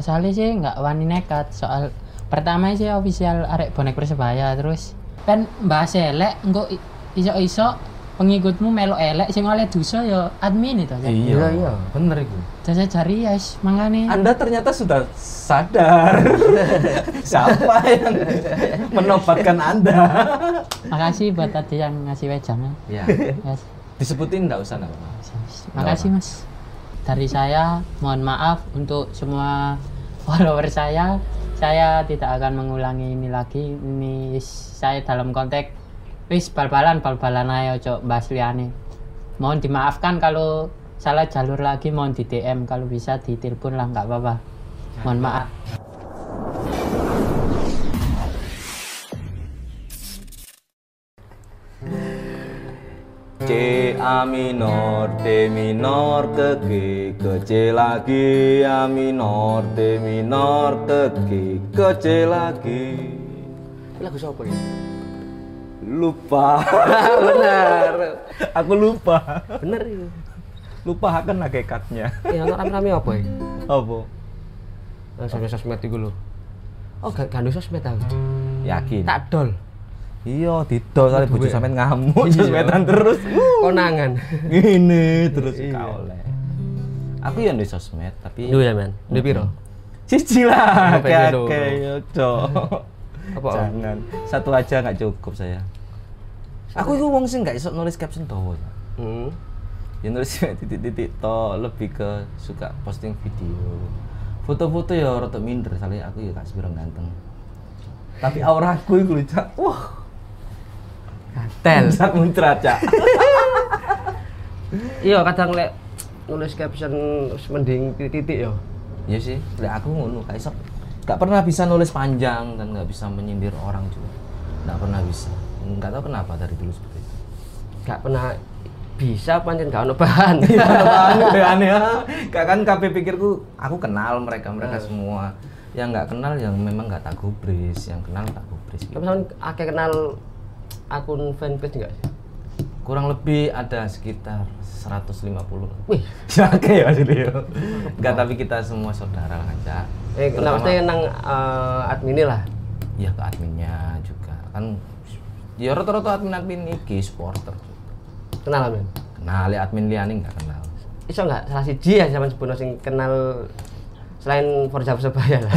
Soalnya sih nggak wani nekat, soal pertama sih official arek bonek Persebaya, terus kan bahas elek engko iso-iso pengikutmu melo elek sing oleh dosa ya admin itu aja. Iya, bener itu. Saya cari ya, makanya Anda ternyata sudah sadar siapa yang menobatkan Anda. makasih buat tadi yang ngasih wejangnya. Ya, Yes. disebutin enggak usah enggak. Makasih Mas. Dari saya mohon maaf untuk semua follower saya. Saya tidak akan mengulangi ini lagi. Ini saya dalam konteks wis bal-balan ayo cok bahas liane. Mohon dimaafkan kalau salah jalur lagi, mohon di DM, kalau bisa ditelepon lah nggak apa-apa. Mohon maaf. C A minor D minor ke G ke C lagi A minor D minor ke G ke C lagi. Lagu siapa ya? Lupa. Bener. Aku lupa. Bener itu. Lupa akan hakikatnya. Ya ono rame-rame apa ya? Apa? Sosmed iku lho. Oh, gak ada sosmed aku. Yakin? Tak dol. Iya, didol kali bojo Duwe. sampean ngamuk Iya. sosmedan terus. Konangan. Gini terus Iya. gak oleh. Aku ya ndek sosmed tapi Duwe ya, Men. Duwe piro? Siji lah, Sampai gitu. oke, cok. Apa? Jangan, satu aja nggak cukup saya. Aku itu wong sing nggak iso nulis caption toh. Hmm. Ya nulis titik-titik toh, lebih ke suka posting video. Foto-foto ya rada minder, soalnya aku ya gak sebirang ganteng. Tapi auraku itu Cak. Wah, Tel. muncrat Cak. Iya, kadang lek nulis caption wis mending titik-titik ya. Iya sih, lek aku ngono, gak iso. Gak pernah bisa nulis panjang dan gak bisa menyindir orang juga. Gak pernah bisa. Gak tahu kenapa dari dulu seperti itu. Gak pernah bisa pancen gak ono bahan. Aneh ya. Gak kan kabeh pikirku, aku kenal mereka semua. Yang nggak kenal yang memang nggak tak gubris, yang kenal tak gubris. Tapi sampean akeh kenal akun fanpage enggak sih? Kurang lebih ada sekitar 150. Wih, Ya oke ya jadi. Enggak, tapi kita semua saudara lah Cak. kenapa sih nang admin lah? Ya ke adminnya juga. Kan ya rata-rata admin iki supporter juga. Kenal men. Kenal ya admin liyane nggak kenal. Iso enggak salah siji ya zaman sebelum sing kenal selain Forza Persebaya lah.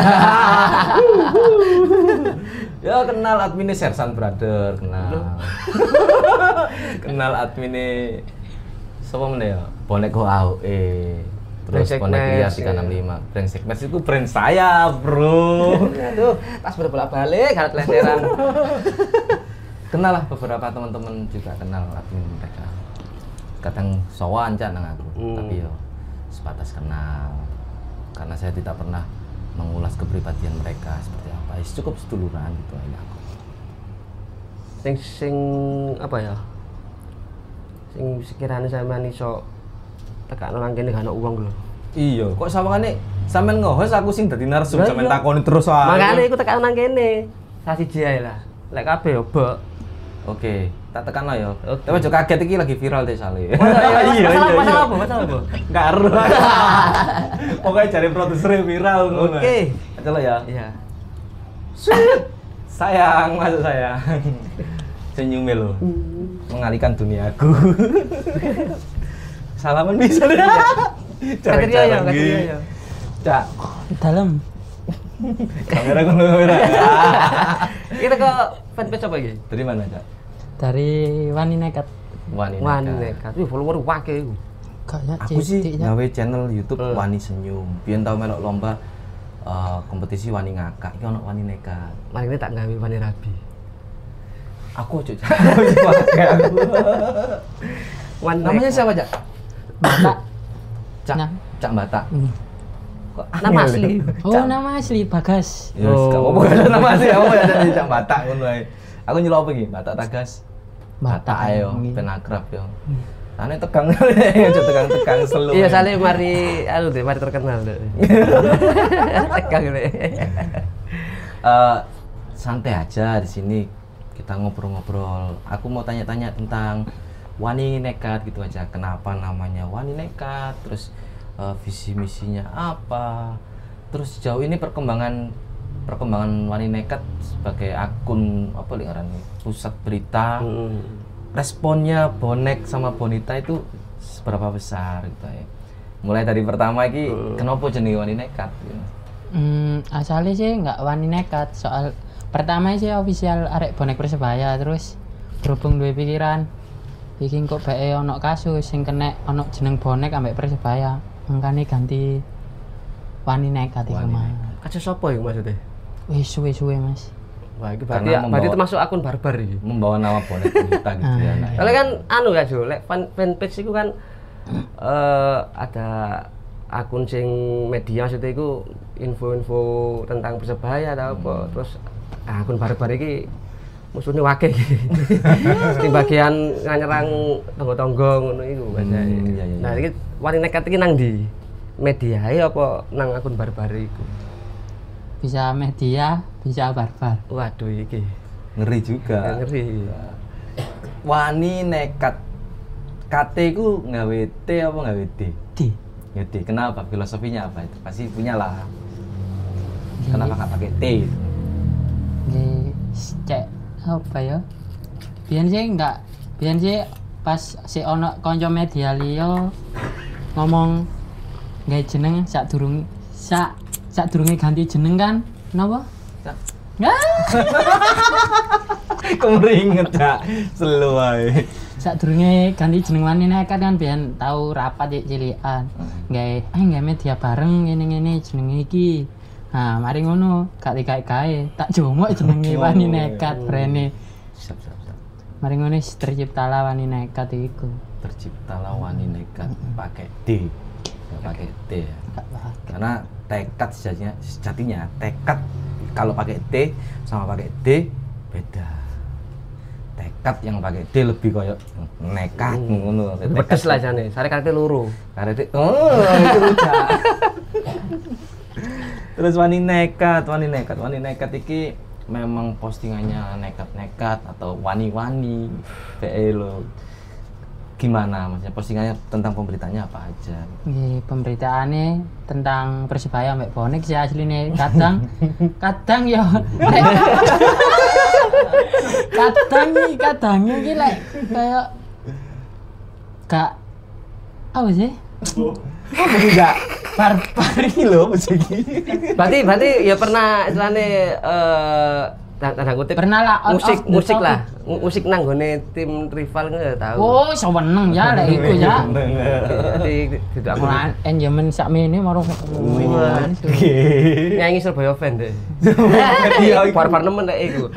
Ya kenal adminnya Sersan Brother, kenal. Kenal adminnya siapa mana ya? Bonek Go AOE. Terus Brengsek Bonek Lia Mes, 365. Brengsek Mes itu brand saya, Bro. Aduh, pas bolak-balik harus leseran. Kenal lah beberapa teman-teman juga kenal admin mereka. Kadang sowan Cak nang aku, tapi yo sebatas kenal. Karena saya tidak pernah mengulas kepribadian mereka seperti apa. Cukup seduluran gitu aja aku. Sing apa ya? Sing sekiranya sampean iso tekakno nang kene gak ono uang lho. Iya, kok sawangane sampean nge-host aku sing dadi narsum Lah sampean iya. takoni terus wae. Makane iku tekakno nang kene. Salah siji ae lah. Lek kabeh yo bok. Oke, tak tekan ya. Oke. Tapi aja kaget iki lagi viral deh sale. Masalah apa? Masalah apa? Enggak ero. Pokoknya cari produsernya viral ngono. Oke. Aja lo ya. Iya. Sayang, masuk sayang. Senyum lo. Mengalihkan duniaku. Salaman bisa deh. Katria ya, katria ya. Cak, Dalam. kamera kamera. Kita ke fanpage apa iki? Dari mana, Cak? Dari wani nekat. Wani Wani Nekat. nekat. Wih, follower wakil iku. Kayaknya Aku sih ya. gawe channel YouTube Hmm. Wani Senyum. Biyen tau melok lomba kompetisi wani ngakak. Iki ono Wani Nekat. Mari ini tak gawe wani rabi. Aku aja pakai aku. Wani Namanya nekat. siapa, Cak? Batak. Cak, Nah. Cak Batak. Hmm. Kok Nama angel asli. ya? Oh, nama asli Bagas. Ya wis gak apa-apa kan nama asli apa ya jadi Cak Batak ngono ae. Aku nyelok apa iki? Batak Tagas. Batak ayo, Nggih. ben akrab yo. Ane tegang aja tegang-tegang selu. Iya, sale mari deh, mari terkenal deh. Tegang deh. Santai aja di sini kita ngobrol-ngobrol. Aku mau tanya-tanya tentang Wani Nekat gitu aja. Kenapa namanya Wani Nekat? Terus visi misinya apa? Terus sejauh ini perkembangan Wani Nekat sebagai akun apa lingkaran pusat berita, responnya bonek sama bonita itu seberapa besar gitu ya. Mulai dari pertama iki kenapa jenenge Wani Nekat gitu. Asalnya sih nggak Wani Nekat, soal pertama sih official arek bonek Persebaya, terus berhubung duwe pikiran iki kok bae ono kasus sing kena ono jeneng bonek ambek Persebaya, mangkane ganti Wani Nekat iku mah. Kasus apa ya maksudnya? Wis suwe-suwe Mas. Wah, itu berarti termasuk akun barbar iki. Membawa nama bonek bonita gitu ya. Nah, Soalnya kan anu ya Jo, lek fanpage itu kan ada akun sing media maksudnya itu info-info tentang Persebaya atau apa. Terus akun barbar iki musuhnya wakil di bagian nyerang tonggo-tonggo ngono iku iya. Nah, iki Wani Nekat iki nang ndi? Media apa nang akun barbar iku? Bisa media, bisa barbar. Waduh iki ngeri juga. ngeri. Wani Nekat. KT ku nggawe T apa nggawe D? Di. Ya D. Kenapa? Filosofinya apa itu? Pasti punya lah. Kenapa nggak pakai T? Gitu? Cek apa ya? Biyen sih pas si ono kanca media liya ngomong gawe jeneng sadurunge ganti jeneng kan. Napa? Kemeringet ya, selu ae. Sadurunge ganti jeneng Wani Nekat kan biyen tau rapat cilikan. Gawe media bareng ngene-ngene jenenge iki. Nah, mari ngono, gak dikae-kae, tak jomok jenenge Wani Nekat brene. Siap. Mari ngono terciptalah Wani Nekat iku. Terciptalah Wani Nekat pakai D. Enggak pakai T ya. Karena tekad sejatinya tekad kalau pakai T sama pakai D beda. Tekad yang pakai D lebih koyo nekat ngono. Pedes lah jane, sare karete loro. Karete itu rujak. Terus Wani Nekat iki memang postingannya nekat-nekat atau wani-wani PE lo. Gimana maksudnya postingannya tentang pemberitaannya apa aja? Nggih, pemberitaane tentang Persebaya mbek bonek sih asline kadang ya kadang iki lek kayak gak apa sih? Enggak barbar iki lho mesti iki. Berarti ya pernah istilahnya tanda kutip Pernah lah, out of the musik topic. lah. Musik nang gone tim rival enggak tahu. Oh, seneng ya lek iku ya. Jadi tidak aku Mulai zaman sakmene marung nyanyi Surabaya fan deh. Iya, Barbar nemen lek iku.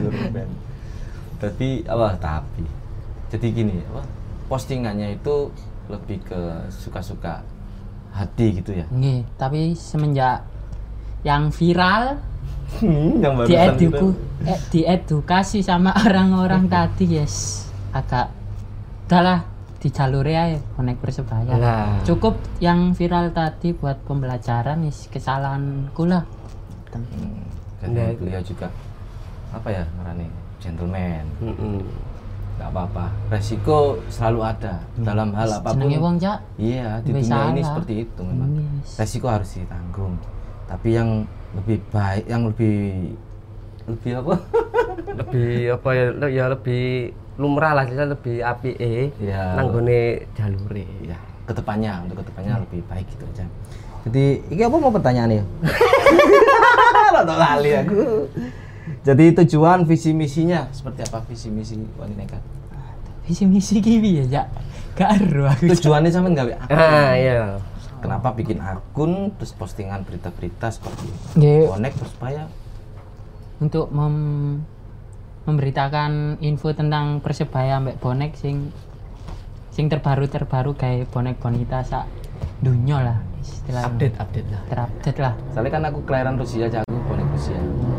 Tapi jadi gini, postingannya itu lebih ke suka-suka hati gitu ya. Nggih, tapi semenjak yang viral Yang barusan itu. diedukasi sama orang-orang tadi yes agak udahlah di jalur ya bonek Persebaya. Lah. Cukup yang viral tadi buat pembelajaran is kesalahanku lah. Jadi beliau juga apa ya ngarani gentleman. Nggak apa-apa, resiko selalu ada dalam hal apapun. Jenenge wong Cak. Iya, di Wis dunia ini salah. seperti itu memang. Yes. Resiko harus ditanggung. Tapi yang lebih baik, yang lebih apa? Lebih apa ya lebih lumrah lah, lebih apike Iya. nang gone jalure. Ya, untuk kedepannya lebih baik gitu aja. Jadi, ini apa mau pertanyaan ya? Rada lali aku. Jadi tujuan visi misinya seperti apa visi misi Wani Nekat? Visi misi ki piye ya? Gak ero aku. Tujuannya sampean gawe apa? Iya. Kenapa bikin akun terus postingan berita-berita seperti itu? Nggih, Bonek Persebaya. untuk memberitakan info tentang Persebaya mbek bonek sing terbaru kayak bonek bonita sak dunia lah istilahnya. Update lah. Terupdate lah. Soalnya kan aku kelahiran Rusia aja, aku bonek Rusia.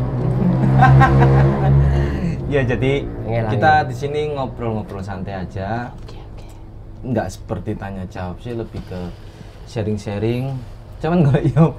Ya jadi Ngelangi. kita di sini ngobrol-ngobrol santai aja. Oke. Nggak seperti tanya jawab sih, lebih ke sharing-sharing. Cuman nggak iya apa.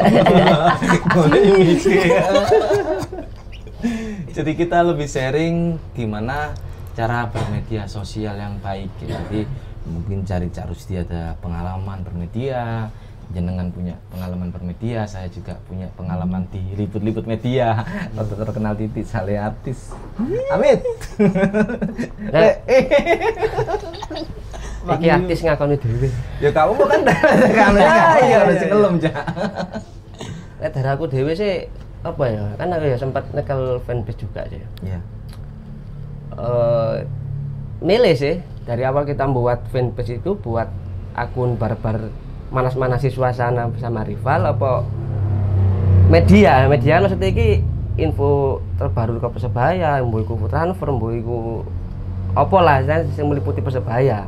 Jadi kita lebih sharing gimana cara bermedia sosial yang baik. Jadi mungkin cari Cak Rusdi ada pengalaman bermedia, jenengan punya pengalaman bermedia, saya juga punya pengalaman di liput-liput media. Waktu terkenal titik sale artis. Amit. Iki artis ngakoni dhewe. Ya kamu kan kamera ya harus ngelem ja. Lek dari aku dhewe sih apa ya? Kan aku ya sempat nyekel fanpage juga sih. Iya. Milih sih dari awal kita buat fanpage itu buat akun barbar manas-manasi suasana bersama rival apa media maksudnya iki info terbaru ke Persebaya, mbok iku transfer, mbok iku apa lah sing meliputi Persebaya.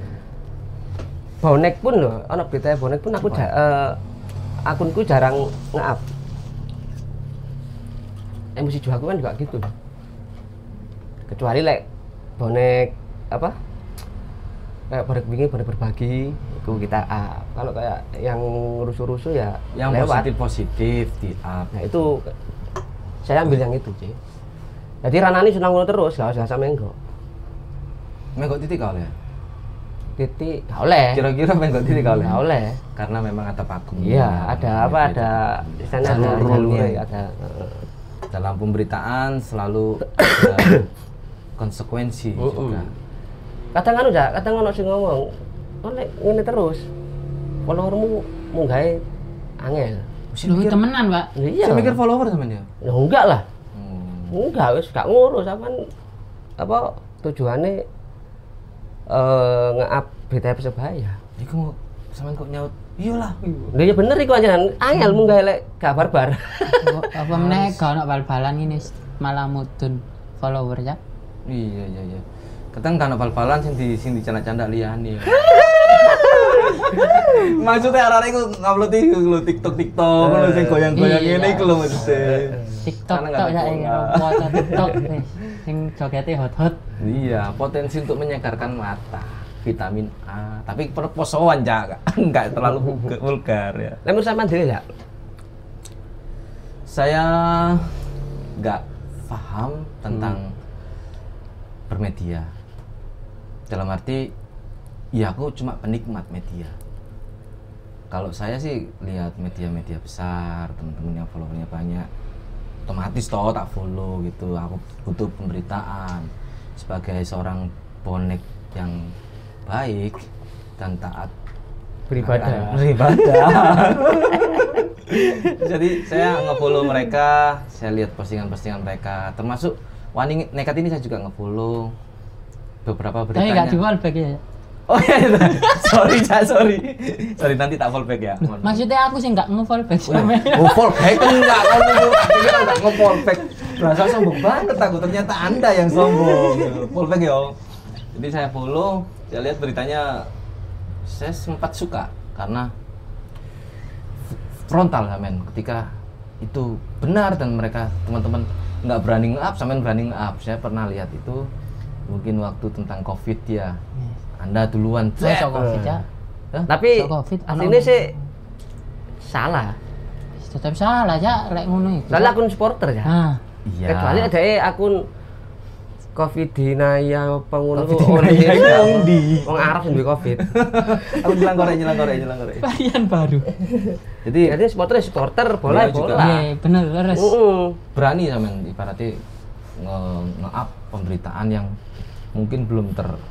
Bonek pun loh, ana berita bonek pun aku akunku jarang nge-up. Emosi aku kan juga gitu. Kecuali lek bonek apa? Kayak bonek wingi bonek berbagi itu kita up. Kalau kayak yang rusuh-rusuh ya yang lewat. positif di up. Nah itu saya ambil yang itu sih. Jadi Ranani senang ngono terus, gak usah sampe engko. Menggok titik kau ya? Titik gak oleh. Kira-kira menggok titik kau Gak oleh. Karena memang ada pakem. Iya, ada apa? Ada di sana ada jalurnya, ada. Dalam pemberitaan selalu ada konsekuensi juga. Kadang kan udah, kadang ono sing ngomong, oleh ngene terus. Followermu munggahe angel. Lu temenan, Pak. Iya. Saya mikir follower sama dia. Ya enggak lah. Enggak, wis gak ngurus sampean apa tujuannya nge-up berita Persebaya. Iku sampean kok nyaut, iyalah. Lha ya bener iku anjenan angel munggahe lek gak barbar. Apa meneh gak ono bal-balan ini malah mudun follower ya. Iya. Kadang kan bal-balan sing dicanda-canda liyane. Maksudnya arek iku ngupload iku lho TikTok ngono sing goyang-goyang ngene iku lho maksudnya. TikTok tok ya foto TikTok sing jogete hot-hot. Iya, potensi untuk menyegarkan mata, vitamin A, tapi perposoan ja, enggak terlalu vulgar ya. Lemur sampean dhewe ya? Saya enggak paham tentang bermedia. Dalam arti ya aku cuma penikmat media. Kalau saya sih lihat media-media besar, teman-teman yang followernya banyak, otomatis toh tak follow gitu. Aku butuh pemberitaan sebagai seorang bonek yang baik dan taat Beribadah. Jadi saya nge-follow mereka, saya lihat postingan-postingan mereka, termasuk Wani Nekat ini saya juga nge-follow beberapa beritanya. Tapi nggak di wallback ya? Oh iya, sorry nanti tak fallback ya. Maksudnya aku sih nggak nge-fallback sama. Oh fallback enggak, kamu akhirnya nggak nge-fallback. Berasa sombong banget aku, ternyata Anda yang sombong. Fallback ya. Jadi saya follow, saya lihat beritanya, saya sempat suka karena frontal men. Ketika itu benar dan mereka teman-teman nggak berani nge-up, sampean berani nge-up. Saya pernah lihat itu mungkin waktu tentang COVID ya. Anda duluan Soal COVID ya. Tapi Soal COVID, aslinya sih salah. Tetap salah ya, lek ngono iku. Soalnya akun supporter ya. Nah, Iya. Kecuali ada akun Covidinaya pengunduh Covidinaya wong ndi? Wong Arab sing duwe Covid. Aku nyelang korek. varian baru. Jadi supporter bola Iya, juga. bola. Iya, bener leres. Berani sampean ibaratnya nge-up pemberitaan yang mungkin belum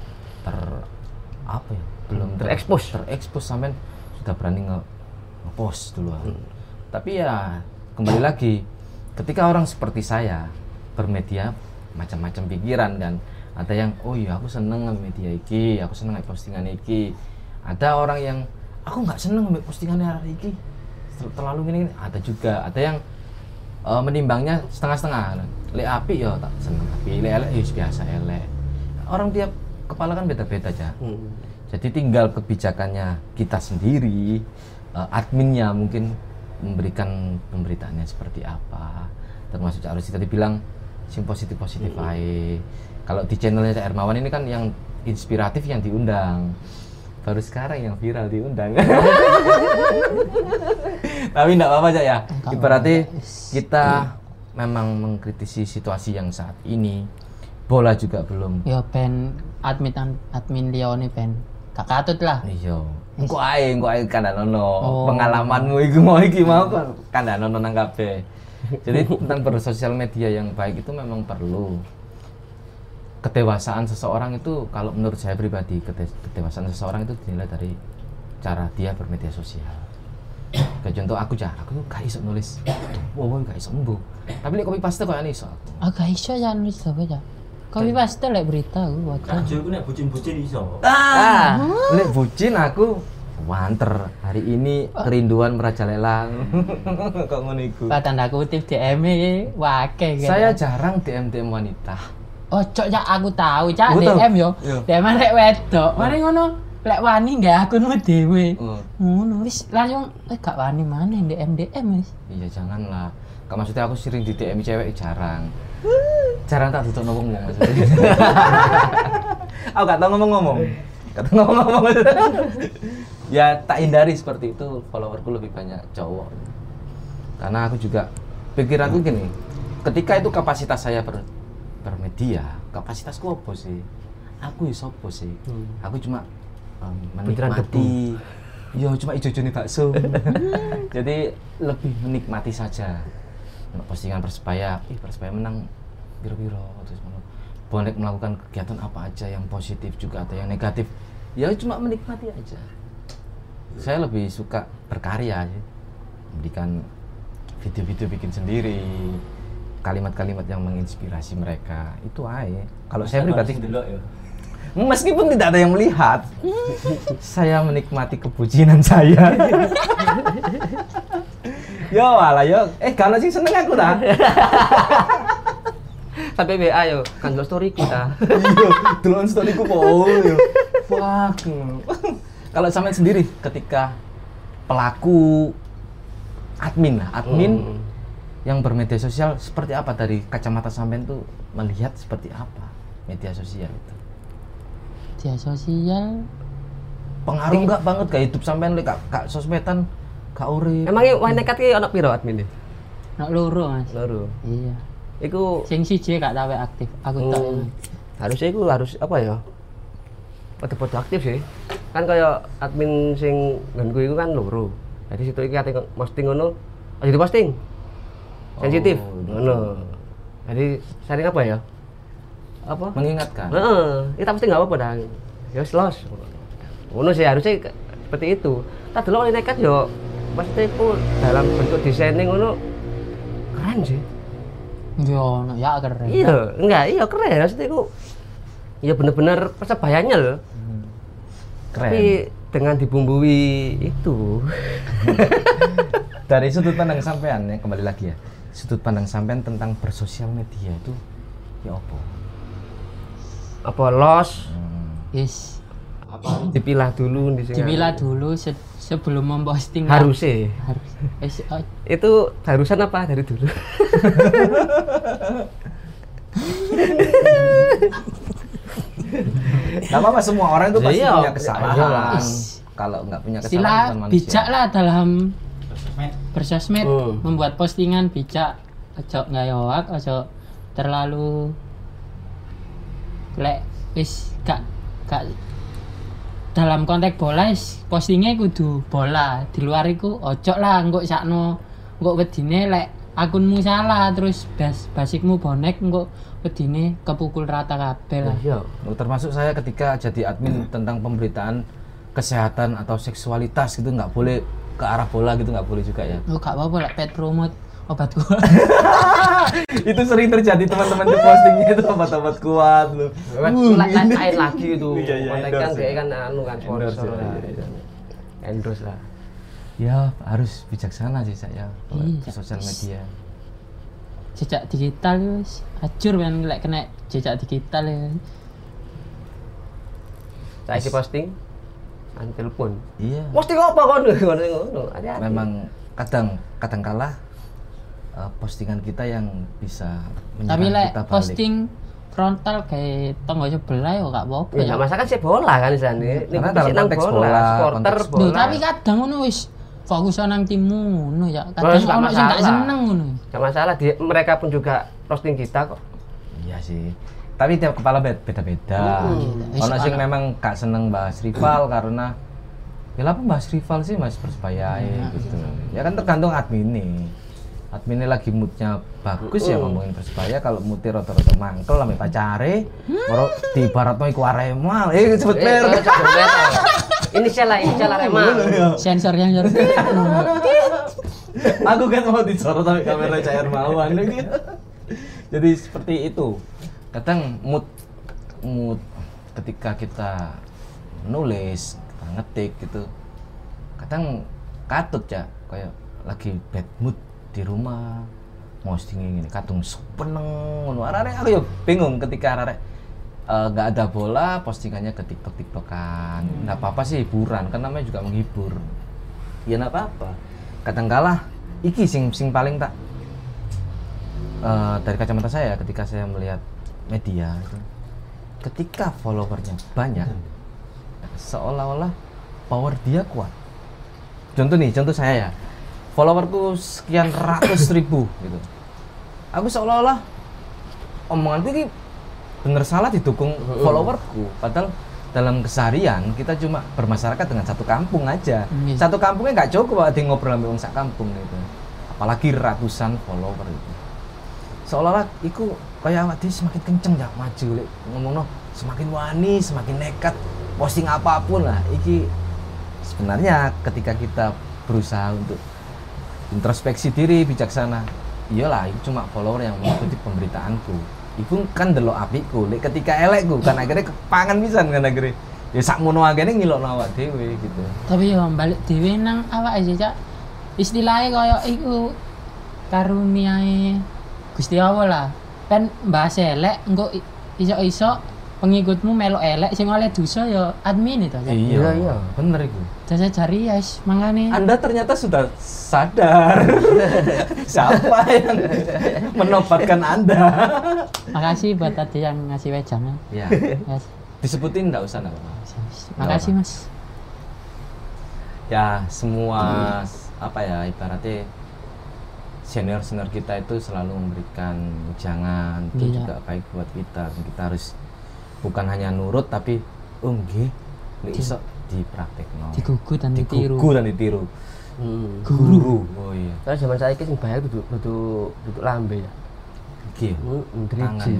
terekspos sampean sudah berani nge-post duluan. Tapi ya kembali lagi ketika orang seperti saya bermedia macam-macam pikiran dan ada yang oh iya aku seneng nge media iki, aku seneng nge postingan iki. Ada orang yang aku nggak seneng nge postingannya hari iki terlalu gini, ada juga ada yang menimbangnya setengah-setengah. Lek api ya tak seneng, tapi lek elek ya biasa elek. Orang tiap kepala kan beda-beda aja. Jadi tinggal kebijakannya kita sendiri, adminnya mungkin memberikan pemberitaannya seperti apa. Termasuk Cak Rosi tadi bilang sing positif-positif aja. Kalau di channelnya Cak Hermawan ini kan yang inspiratif yang diundang. Baru sekarang yang viral diundang. Tapi enggak apa-apa Cak ya. Ibaratnya kita memang mengkritisi situasi yang saat ini. Bola juga belum. Ya ben admin Leone ben gak katut lah. Iya. Engko ae kandhanono. Oh. Pengalamanmu iki mau kan kandhanono nang kabeh. Jadi tentang bersosial media yang baik itu memang perlu. Kedewasaan seseorang itu kalau menurut saya pribadi kedewasaan seseorang itu dinilai dari cara dia bermedia sosial. Kayak contoh aku gak iso nulis. Wow, gak iso mbuh. Tapi lek copy paste koyo iso aku. Gak iso ya nulis apa ya. Copy paste lek berita aku wajar. Rajo iku nek bucin-bucin iso. Lek bucin aku wanter. Hari ini kerinduan merajalela. Kok ngono iku. Pak tanda kutip DM-e wake gitu. Saya jarang DM wanita. Ojo ya aku tahu cak Betul. DM yo. Iya. DM rek wedok. Mari ngono lek wani gak akunmu dhewe. Ngono wis langsung gak wani maneh DM wis. Iya janganlah. Maksudnya aku sering di DM cewek jarang. Jarang tak tutup ngomong maksudnya. Aku gak tau ngomong-ngomong. Ya tak hindari seperti itu. Followerku lebih banyak cowok. Karena aku juga pikiranku gini. Ketika itu kapasitas saya bermedia, kapasitasku apa sih? Aku ya sopo sih? Aku cuma menikmati. Yo cuma ijo-ijo nih bakso. Jadi lebih menikmati saja. Postingan Persebaya, Persebaya menang biro-biro terus bonek melakukan kegiatan apa aja yang positif juga atau yang negatif. Ya cuma menikmati aja. Saya lebih suka berkarya ya. Bikin video-video bikin sendiri. Kalimat-kalimat yang menginspirasi mereka itu aja. Kalau saya pribadi delok ya. Meskipun tidak ada yang melihat, saya menikmati kebucinan saya. Yo alah yo, kalau sih seneng aku dah. Sampai WA yo, kan delok story kita. Iya, delok storyku po yo. Fuck. Kalau sampean sendiri ketika pelaku admin yang bermedia sosial seperti apa dari kacamata sampean tuh melihat seperti apa media sosial itu? Media sosial Pengaruh enggak banget ke hidup sampean lek gak sosmedan gak urip. Emangnya wah nekat ki ana piro admin e? nak loro Mas. Loro. Iya. Iku Sing siji gak tahu aktif. Aku tok. harusnya iku harus apa ya? Pada aktif sih. Kan kaya admin sing nggonku iku kan loro. Jadi situ iki ate posting ngono, aja diposting. Sensitif. Ngono. Jadi sering apa ya? Apa? Mengingatkan. Kita pasti nggak apa-apa dah. Ya wis los. Ngono sih harusnya seperti itu. Tak delok nekat yo pasti itu dalam bentuk desainnya ngono keren sih. Yo, no, ya keren. Iya, enggak, iya keren. Maksudnya itu ya bener-bener persebayanya loh. Keren. Tapi dengan dibumbui itu. Dari sudut pandang sampean ya, kembali lagi ya. Sudut pandang sampean tentang bersosial media itu ya apa? Apa los? Yes. Apa dipilah dulu di sini. Dipilah dulu sebelum memposting. Harusnya. Harus. Itu harusan apa dari dulu? Gak apa-apa, semua orang itu pasti Iya. punya kesalahan. Is. Kalau nggak punya kesalahan Sila bukan manusia. bijak lah dalam bersosmed, membuat postingan bijak, ojo ngayowak, ojo terlalu lek wis gak dalam konteks bola postingnya kudu bola, di luar iku ojo lah engko sakno engko wedine lek akunmu salah terus basicmu bonek engko wedine kepukul rata kabeh lah. Iya. Termasuk saya ketika jadi admin tentang pemberitaan kesehatan atau seksualitas gitu nggak boleh ke arah bola gitu, nggak boleh juga ya. Oh gak apa-apa lek pet promote obat kuat. Itu sering terjadi teman-teman tuh postingnya itu obat-obat kuat loh. Lain lagi itu. Iya, iya, Konten kan endorse, kayak ya. kan anu kan Endorse, sponsor lah. iya. Endorse lah. Ya harus bijaksana sih saya kalau Iya, di sosial media. Jejak digital wis hancur kan lek kena jejak digital ya. Saya posting an telepon. Iya. Posting apa kon? Ngono. Hati-hati. Memang kadang kala postingan kita yang bisa Tapi menyerang lek kita balik. posting frontal kayak tonggo sebelah ya gak apa-apa Ya ya. enggak masalah kan sih bola kan di sana. Ini Karena posisi dalam nang konteks bola, supporter konteks- bola. Duh, tapi kadang ngono wis fokus nang timmu ngono ya. Kadang Wes, gak ono sing gak masalah. seneng ngono. Enggak masalah mereka pun juga posting kita kok. Iya sih. tapi tiap kepala beda-beda. Ono sing memang gak seneng bahas rival karena ya apa bahas rival sih Mas Persebaya gitu. Ya kan tergantung adminnya lagi moodnya bagus ya ngomongin Persebaya, kalau moodnya rata-rata mangkel sampai pacare baru di baratno iku Arema sebut merek. Inisial Arema. Sensor yang jorok. Aku kan mau disorot tapi kamera cair mauan gitu. Jadi seperti itu. Kadang mood ketika kita nulis, kita ngetik gitu. Kadang katut ya kayak lagi bad mood di rumah. Posting ini kadung seneng ngono. Arek aku ya bingung ketika arek nggak ada bola, postingannya ke TikTok-TikTokan. Nggak apa-apa sih, hiburan, kan namanya juga menghibur. Ya nggak apa-apa. Kadangkala iki sing paling tak dari kacamata saya ketika saya melihat media itu, ketika followernya banyak, seolah-olah power dia kuat. Contoh saya ya, followerku sekian ratus ribu gitu. Aku seolah-olah omonganku ini bener salah didukung followerku, padahal dalam keseharian kita cuma bermasyarakat dengan satu kampung aja. Satu kampungnya nggak cukup ada ngobrol sama orang sak kampung gitu. Apalagi ratusan follower itu. Seolah-olah itu kayak awak dhewe semakin kenceng ya maju lek ngomongno, semakin wani, semakin nekat posting apapun lah. Iki sebenarnya ketika kita berusaha untuk introspeksi diri bijaksana, iyalah itu cuma follower yang mengikuti pemberitaanku. Iku kan delok apikku, lek ketika elekku kan akhirnya kepangan pisan kan akhirnya. Ya sakmono akene ngilokno awak dhewe gitu. Tapi yo balik dhewe nang awak aja, Cak. Istilahnya kaya iku karuniae Gusti Allah lah. Kan bahas elek engko iso-iso pengikutmu melok elek sing oleh dosa ya admin itu, Cak. Iya, bener iku. Saya cari ya, mangane. Anda ternyata sudah sadar siapa yang menobatkan Anda. Makasih buat tadi yang ngasih wejangan. Ya. Yes. Disebutin enggak usah enggak. Makasih, Mas. Ya, semua apa ya ibaratnya senior kita itu selalu memberikan wejangan, itu juga baik buat kita. Kita harus bukan hanya nurut tapi nggih nek iso dipraktekno. Digugu dan ditiru. Guru. Oh iya. Karena zaman saiki sing bahaya duduk lambe ya. Iki. Driji.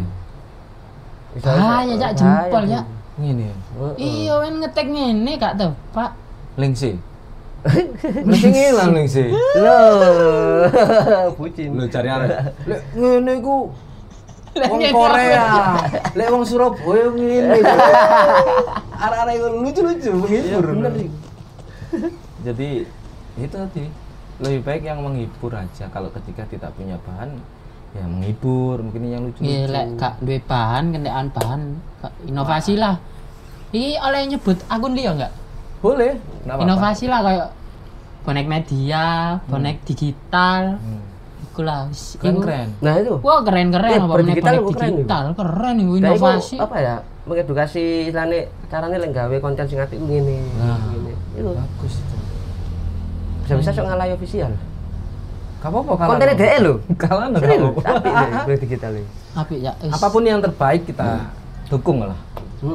Ya Cak jempol ya. Ngene. Iya men ngetek ngene gak tau, Pak. Link sih. Mesti ngilang link sih. Loh. Bucin. Lho cari arek. Lek ngene iku wong Korea. Lek wong Surabaya ngene. Arek-arek lucu-lucu menghibur. Bener sih. Jadi itu tadi lebih baik yang menghibur aja. Kalau ketika tidak punya bahan ya menghibur, mungkin yang lucu-lucu. Iya lek gak duwe bahan, kendekan bahan, inovasi lah. Iki oleh nyebut akun liya enggak? Boleh. Inovasi lah kayak bonek media, bonek digital. Iku lah Keren. Nah itu. Wah keren-keren apa bonek digital. Keren iku inovasi. Apa ya? Mengedukasi istilahnya caranya lek gawe konten sing apik ngene. Ngene. Itu Bagus itu. bisa-bisa sok ngalai official. Gak apa-apa kalau Kontennya DE lho. Kalah enggak Apik apa-apa. deh digital iki. Apik ya. Apapun yang terbaik kita dukung lah.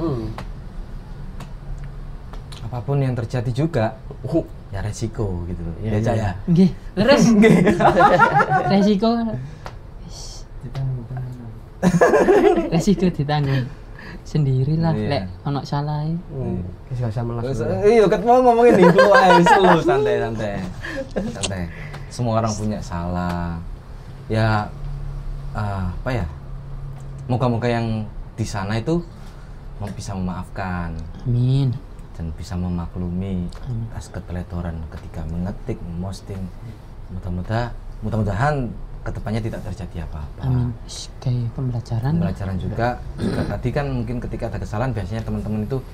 Apapun yang terjadi juga ya resiko gitu loh. Ya Cak ya. Nggih, leres. Resiko. Resiko ditanggung sendirilah lek ono salah. Wis gak usah melas. Iya, ket mau ngomongin dulu ae slow santai. Semua orang punya salah. Ya apa ya? Moga-moga yang di sana itu bisa memaafkan. Amin. Dan bisa memaklumi atas keteletoran ketika mengetik, memosting. Mudah-mudahan kedepannya tidak terjadi apa-apa. Amin. Kayak pembelajaran juga tadi kan mungkin ketika ada kesalahan biasanya teman-teman itu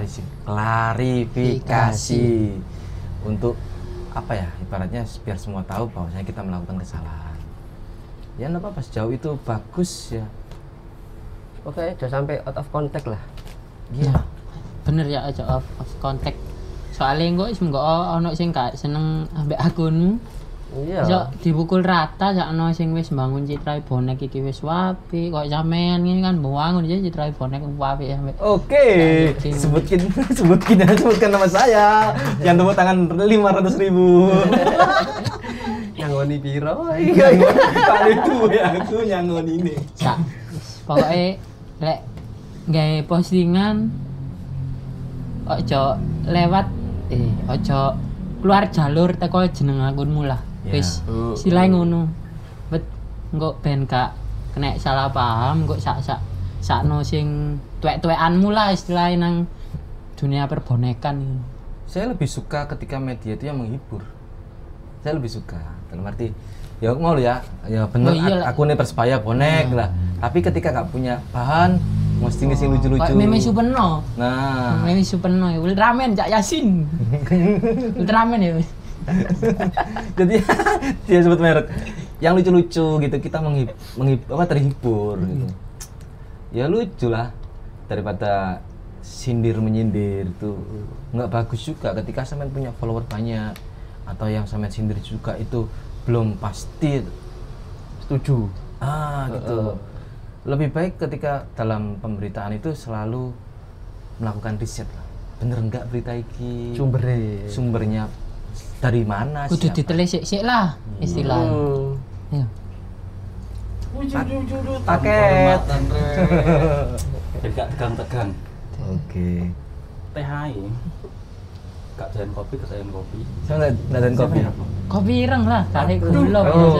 klarifikasi untuk apa ya ibaratnya biar semua tahu bahwasanya kita melakukan kesalahan. Ya enggak apa-apa, sejauh itu bagus ya. Oke, jangan sampai out of contact lah. Iya. Bener ya aja off contact. Soalnya engko ono sing gak seneng ambek akunmu. Iya. Iso dipukul rata sakno sing wis mbangun citra bonek iki wis wapi, kok sampean ngene kan mbangun aja citra bonek wapi sampe. Oke, sebutkan nama saya. Yang tepuk tangan 500.000. Nyangoni piro? Kali itu ya aku nyangon ini. Sak. Pokoke lek gawe postingan ojo lewat ojo keluar jalur teko jeneng akunmu lah. Ya. Wis silai ngono. Bet engko ben gak kena salah paham engko sakno sing tuwek-tuwekanmu lah istilahnya nang dunia perbonekan ini. Saya lebih suka ketika media itu yang menghibur. Saya lebih suka. Dalam arti ya mau ya bener akunnya Persebaya bonek lah. Tapi ketika gak punya bahan mesti ngisi lucu-lucu. Kayak Meme Supeno. Nah, Meme Supeno ya Ultraman Cak Yasin. Ultraman ya. jadi dia sebut merek yang lucu-lucu gitu, kita terhibur gitu. Ya lucu lah daripada sindir menyindir itu nggak bagus juga ketika sampean punya follower banyak atau yang sampean sindir juga itu belum pasti Setuju. gitu. Lebih baik ketika dalam pemberitaan itu selalu melakukan riset lah, bener enggak berita ini sumbernya dari mana, Kudu siapa? ditelisik sik lah istilahnya. Ya. Paket. Jadi gak tegang-tegang. Oke. Teh ae. Gak doyan kopi, kedoyan kopi. Saya nggak ada kopi. Kopi ireng lah, kali gula.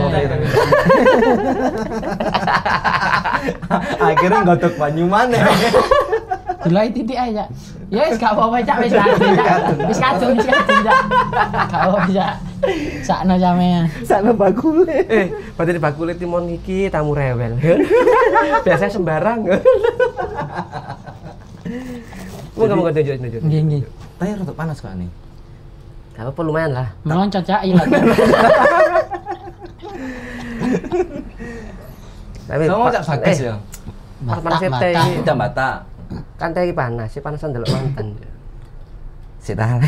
Akhirnya godok banyu mana? Gula titik aja. Ya wis gak apa-apa Cak, wis kadung Cak. Gak apa-apa Cak. Sakno sampean. Sakno bakule. Berarti bakule timon iki tamu rewel. Biasanya sembarang. Mau kamu tunjuk. Nggih nggih. Tanya rada panas kok nih. Gak apa lumayan lah. Meloncot Cak ilang. Tapi Kamu cak bagus ya. panas teh iki. Udah bata. Kan teh iki panas, si panasan delok mantan. Sik ta.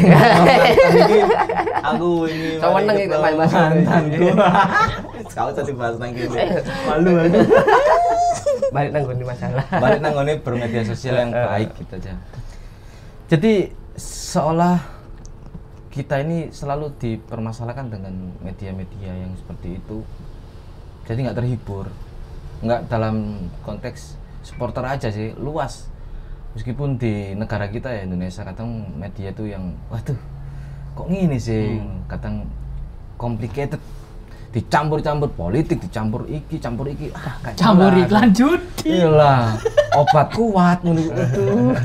Aku ini. Sama neng iki main mantanku. Kau tadi bahas nang kene. Malu aku. Balik nang ngene masalah. Balik nang ngene bermedia sosial yang baik gitu aja. Jadi seolah kita ini selalu dipermasalahkan dengan media-media yang seperti itu. Jadi nggak terhibur. Nggak dalam konteks supporter aja sih, luas. Meskipun di negara kita ya Indonesia kadang media tuh yang waduh kok gini sih, kadang complicated, dicampur-campur politik, dicampur iki, campur iki, Campur iklan judi. iyalah obat kuat menurut itu.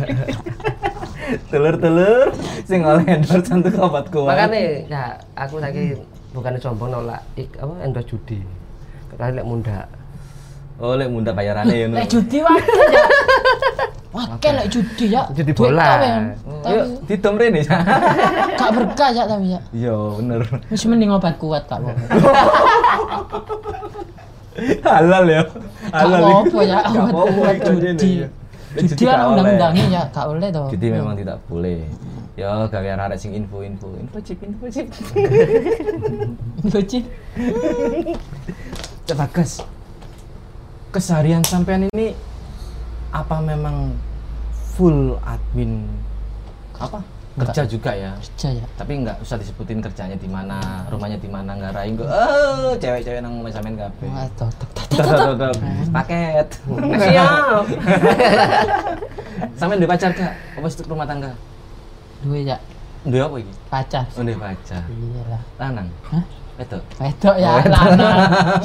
Telur-telur sing oleh endorse untuk obat kuat. Makanya ya aku lagi bukan sombong nolak endorse judi. Kali lek munda. Oh, lek munda bayarannya ya. Lek judi wae ya. Wae lek judi ya. Judi Duit bola. tau, men. Yuk, ditom rene. Gak berkah ya tapi ya. Iya, bener. Wis mending obat kuat gak apa-apa. Halal ya. Gak apa-apa ya Gak obat apa-apa kuat itu rene judi. ya. Judi kan undang-undangnya ya gak boleh toh. Judi memang tidak boleh. Ya, gawe arek sing info chip. Lucu. Coba Gas. Keseharian sampean ini apa memang full admin apa? Kerja juga ya. Kerja ya. Tapi nggak usah disebutin kerjanya di mana, rumahnya di mana, ngarahin kok. Cewek-cewek nang sampean kabeh. Wah, totok. Paket. Siap. Sampean duwe pacar gak? Apa stuk rumah tangga? Duwe ya Duwe apa iki? pacar. Oh, duwe pacar. Iyalah. Lanang. Hah? Itu. Wedok ya lanang.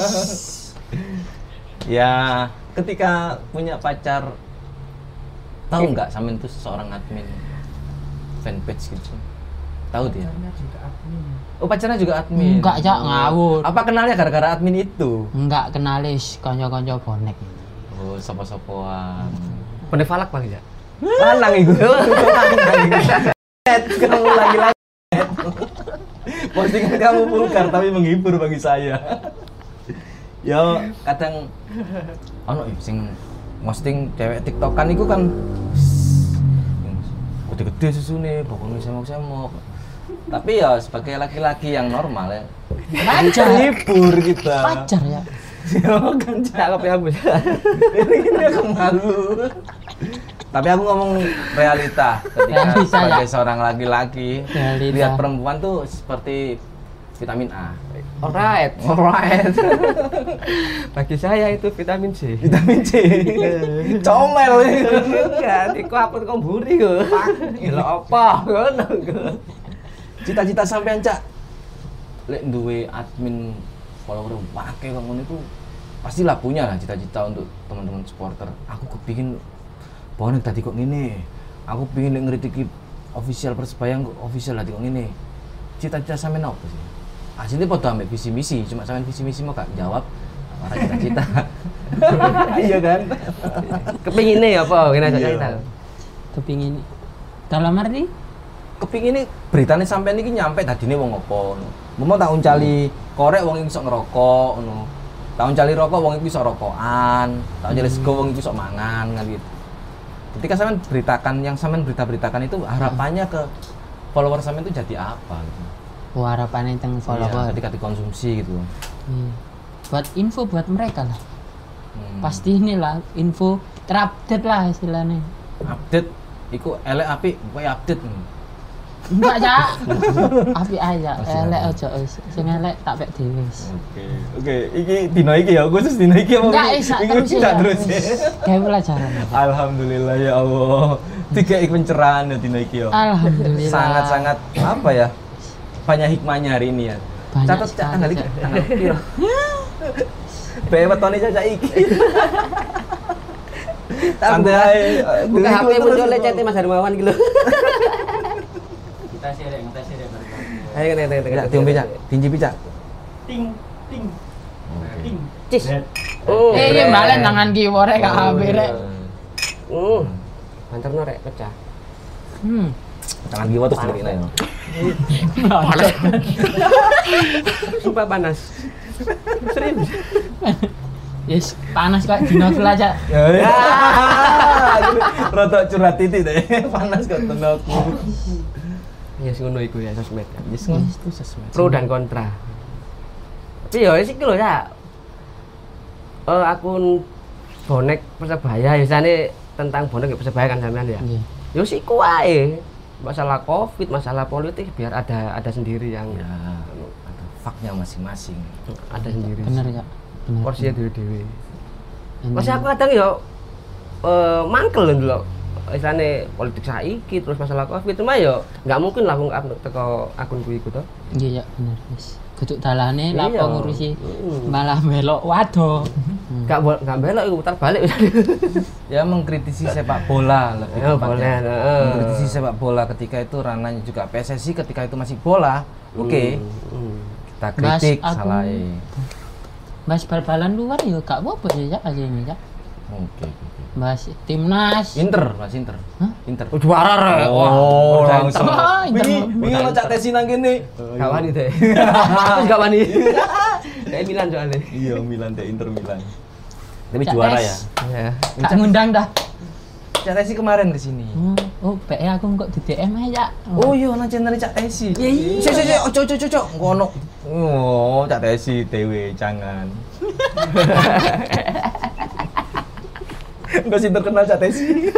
Ya, ketika punya pacar tahu nggak sampean itu seorang admin fanpage gitu? Tahu dia? Oh, pacarnya juga admin. Enggak ya ngawur. Apa kenalnya gara-gara admin itu? Enggak kenalis kanca-kanca bonek. Oh, sopo-sopoan. Bonek falak paling ya. Lanang itu. Kamu lagi-lagi. Postingan kamu vulgar tapi menghibur bagi saya. Yo, kadang ono sing posting cewek TikTokan iku kan gede-gede susune, pokoknya semok-semok. Tapi ya sebagai laki-laki yang normal ya. Wajar. Libur kita. Wajar ya. Kan Cakep ya, Bu. ini aku malu. Tapi aku ngomong realita ketika Realita, sebagai ya. seorang laki-laki Realita. lihat perempuan tuh seperti vitamin A. Alright. Alright. Bagi saya itu vitamin C. Vitamin C. Comel. Enggak, iku apa kok mburi kok. Gila apa? Ngono kok. Cita-cita sampean, Cak. Lek duwe admin follower akeh kok ngono iku pastilah punya lah cita-cita untuk teman-teman supporter. Aku kepingin bonek tadi kok ngene. Aku pengin lek ngritiki official Persebaya kok official tadi kok ngene. Cita-cita sampean apa sih? Aslinya podo ambek visi misi, cuma sampean visi misi mau gak jawab para cita-cita. Iya kan? Kepingine apa? Kena Iya. cerita. Kepingin dalam arti Kepingin beritanya sampean iki nyampe tadine wong apa ngono. Mau tak uncali korek wong iki iso ngerokok ngono. Tak uncali rokok wong iki iso rokokan, tak uncali sego wong iki iso mangan kan gitu. Ketika sampean beritakan yang sampean berita-beritakan itu harapannya ke follower sampean itu jadi apa gitu. harapannya tentang Iya, follower. ketika dikonsumsi gitu. Iya. Buat info buat mereka lah. Hmm. Pasti inilah info terupdate lah istilahnya. Update iku elek apik, kowe update. Enggak ya. Api aja, elek aja wis. Sing elek tak pek dhewe wis. Oke, iki dino iki ya, khusus dino iki apa? Enggak iso terus Enggak ya. terus ya. Kayak pelajaran. Alhamdulillah ya Allah. Tiga pencerahan ya dino iki ya. Alhamdulillah. Sangat-sangat apa ya? Banyak hikmahnya hari ini ya. Banyak Catat sekali, tanggal iki, Cak. tanggal piro? Bae wetone caca iki. Santai. Buka HP muncul chatnya Mas Hermawan gitu. Kita share. Ayo kena. Ya, diombe Cak, dincipi Cak. Ting. Cis. Red. Oh. Iya balen tangan kiwore gak HP rek. Manterno rek pecah. Tangan kiwa terus dikene ya. Sumpah panas. Serius. Yes, panas kok dino aja. Ya. Rotok curhat titik deh. Panas kok tenaku. Ya sing ngono iku ya sosmed. Yes, itu sosmed. Pro dan kontra. Tapi ya sik lho ya. Akun bonek Persebaya biasanya tentang bonek Persebaya kan sampean ya. Iya. Yo sik wae. Masalah Covid, masalah politik biar ada sendiri yang Ya, ada faknya masing-masing. ada sendiri. Bener ya. Bener. Porsinya dewe-dewe. Bener. Masih aku kadang yo mangkel lho ndelok istilahnya politik saiki terus masalah Covid cuma yo nggak mungkin lah wong teko akunku iku to. Iya ya bener wis. Kudu dalane Iya. lapo ngurusi malah melok wado. Nggak belok iku putar balik. Ya mengkritisi sepak bola lebih Ya, tepatnya. boleh, Mengkritisi sepak bola ketika itu ranahnya juga PSSI ketika itu masih bola. Oke. Kita kritik Mas, aku- salah. Bahas bal-balan luar ya gak apa-apa ya Cak aja ini Cak. Oke. Bahas timnas. Inter, Mas Inter. Hah? Inter. Juara rek. Oh, langsung. Oh, Inter. Wingi ono cak tesi nang kene. Gak wani deh. Terus gak wani. Kayak Milan soalnya. Iya, Milan deh, Inter Milan. Tapi Cak juara tes. ya. Ya. Gak ngundang dah. Cak tesi kemarin ke sini. Oh, PE aku kok di DM aja. Oh iya, ana channel Cak Tesi. Ya iya. Sik, ojo. Ngono. Oh, Cak Tesi dewe jangan. Enggak sih terkenal Cak Tesi.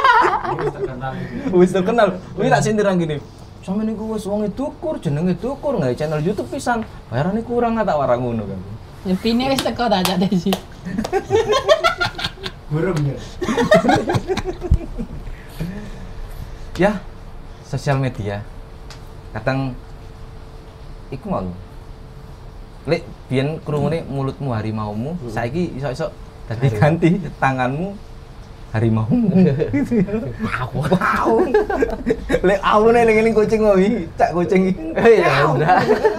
Wis terkenal. Wis tak sindir nang gini. Sampe niku wis wonge dukur, jenenge dukur, nggak channel YouTube pisan. Bayarane kurang tak warang ngono kan. Pine wis teko ta Cak Desi. Burung ya. Ya, sosial media. Kadang iku mau. Lek biyen krungune mulutmu harimaumu, saiki iso-iso dadi ganti tanganmu harimaumu. Wow. Lek awune ning ngene kucing wae, cak kucing iki. Ya udah.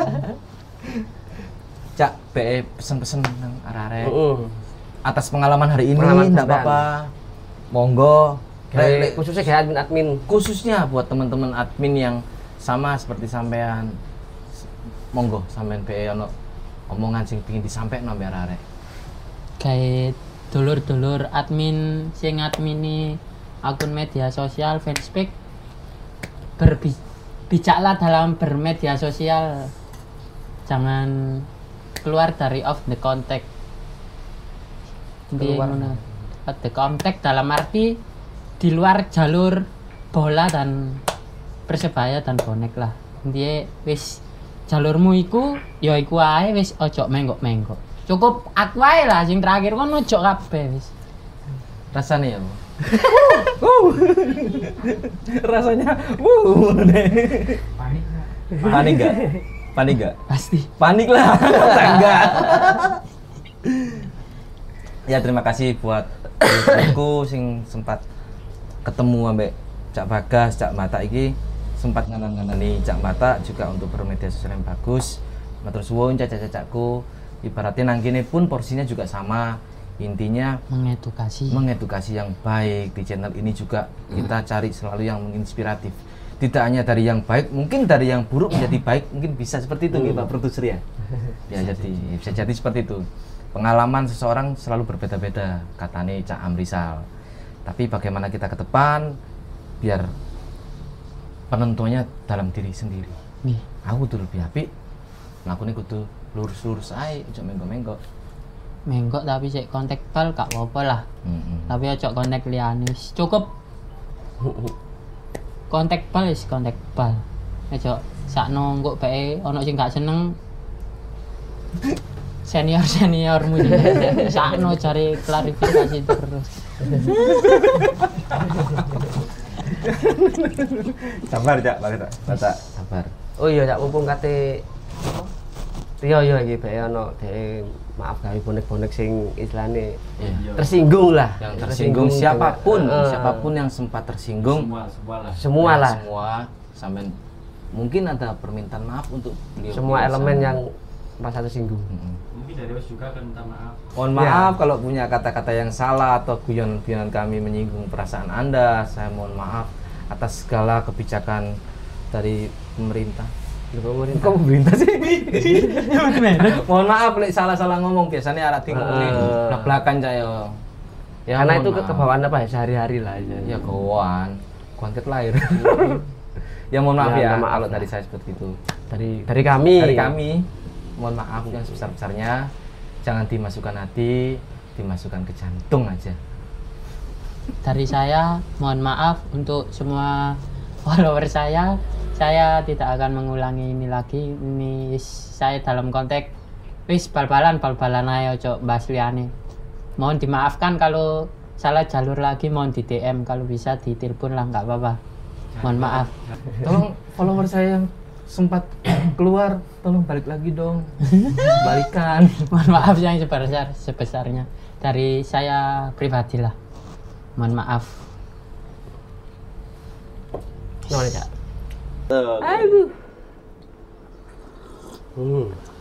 Cak be pesen-pesen nang arek-arek. Heeh. Atas pengalaman hari ini Pengalaman enggak sampean. apa-apa. Monggo. Lek Khususnya kayak admin. khususnya buat teman-teman admin yang sama seperti sampean, monggo sampean be ono omongan sing pengin disampaikan sampe arek. Kayak dulur-dulur admin sing admini akun media sosial fanspage bijaklah dalam bermedia sosial, jangan keluar dari off the contact. Keluar. Off the contact dalam arti di luar jalur bola dan persebaya dan bonek lah. Intinya wis jalurmu iku ya iku ae, wis ojo menggok-menggok. Cukup aku ae lah sing terakhir kon ojo kabeh wis. Rasanya ya, Bu? Rasanya Panik nggak? Panik nggak? Pasti. Panik lah. Enggak. Ya terima kasih buat aku sing sempat ketemu ambek Cak Bagas, Cak Mata iki sempat nganan-nganani Cak Mata juga untuk bermedia sosial yang bagus. Matur suwun cacak-cacakku. Ibaratnya nang kene pun porsinya juga sama. Intinya mengedukasi yang baik. Di channel ini juga kita cari selalu yang menginspiratif. Tidak hanya dari yang baik, mungkin dari yang buruk menjadi baik, mungkin bisa seperti itu Pak produser ya. Ya jadi bisa jadi seperti itu. Pengalaman seseorang selalu berbeda-beda, katanya Cak Amrisal. Tapi bagaimana kita ke depan biar penentunya dalam diri sendiri. Nih, Aku tuh lebih apik, melakukan kudu lurus-lurus aja, jangan menggok-menggok. menggok tapi sik kontak bal gak apa-apa lah. Tapi ojo kontak liyane. Cukup kontak bal wis kontak bal. Ojo sakno engko bae ono sing gak seneng senior-seniormu sakno cari klarifikasi terus. sabar Cak, Batak. Sabar. Oh iya Cak, mumpung kate Rio yo iki bae ono dhek maaf gawe bonek-bonek sing istilahnya Iya. tersinggung lah. Yang tersinggung siapapun, dengan- siapapun yang sempat tersinggung, semua ya, lah. semua sampai mungkin ada permintaan maaf untuk beliau. Semua elemen yang merasa tersinggung. Mungkin dari Mas juga akan minta maaf. Mohon maaf kalau punya kata-kata yang salah atau guyon-guyonan kami menyinggung perasaan Anda. Saya mohon maaf atas segala kebijakan dari pemerintah. Pemerintah. Kok pemerintah sih? Mohon maaf lek salah-salah ngomong, biasanya arah ngomongin belak-belakan saya. Ya, Karena mohon itu maaf. kebawaan apa ya sehari-hari lah. Ya kawan, kontet lahir. Ya mohon maaf Ya, ya, maaf kalau lah. dari saya seperti itu. Dari kami. Dari kami, mohon maaf yang sebesar-besarnya. Jangan dimasukkan hati, dimasukkan ke jantung aja. Dari saya mohon maaf untuk semua follower saya. Saya tidak akan mengulangi ini lagi. Ini saya dalam konteks wis bal-balan ayo ojo bahas liyane. Mohon dimaafkan kalau salah jalur lagi, mohon di DM, kalau bisa di telepon lah nggak apa-apa. Mohon maaf. Tolong follower saya yang sempat keluar, tolong balik lagi dong. Balikan. Mohon maaf yang sebesarnya dari saya pribadi lah. Mohon maaf. Gimana Cak? Tuh. Aduh.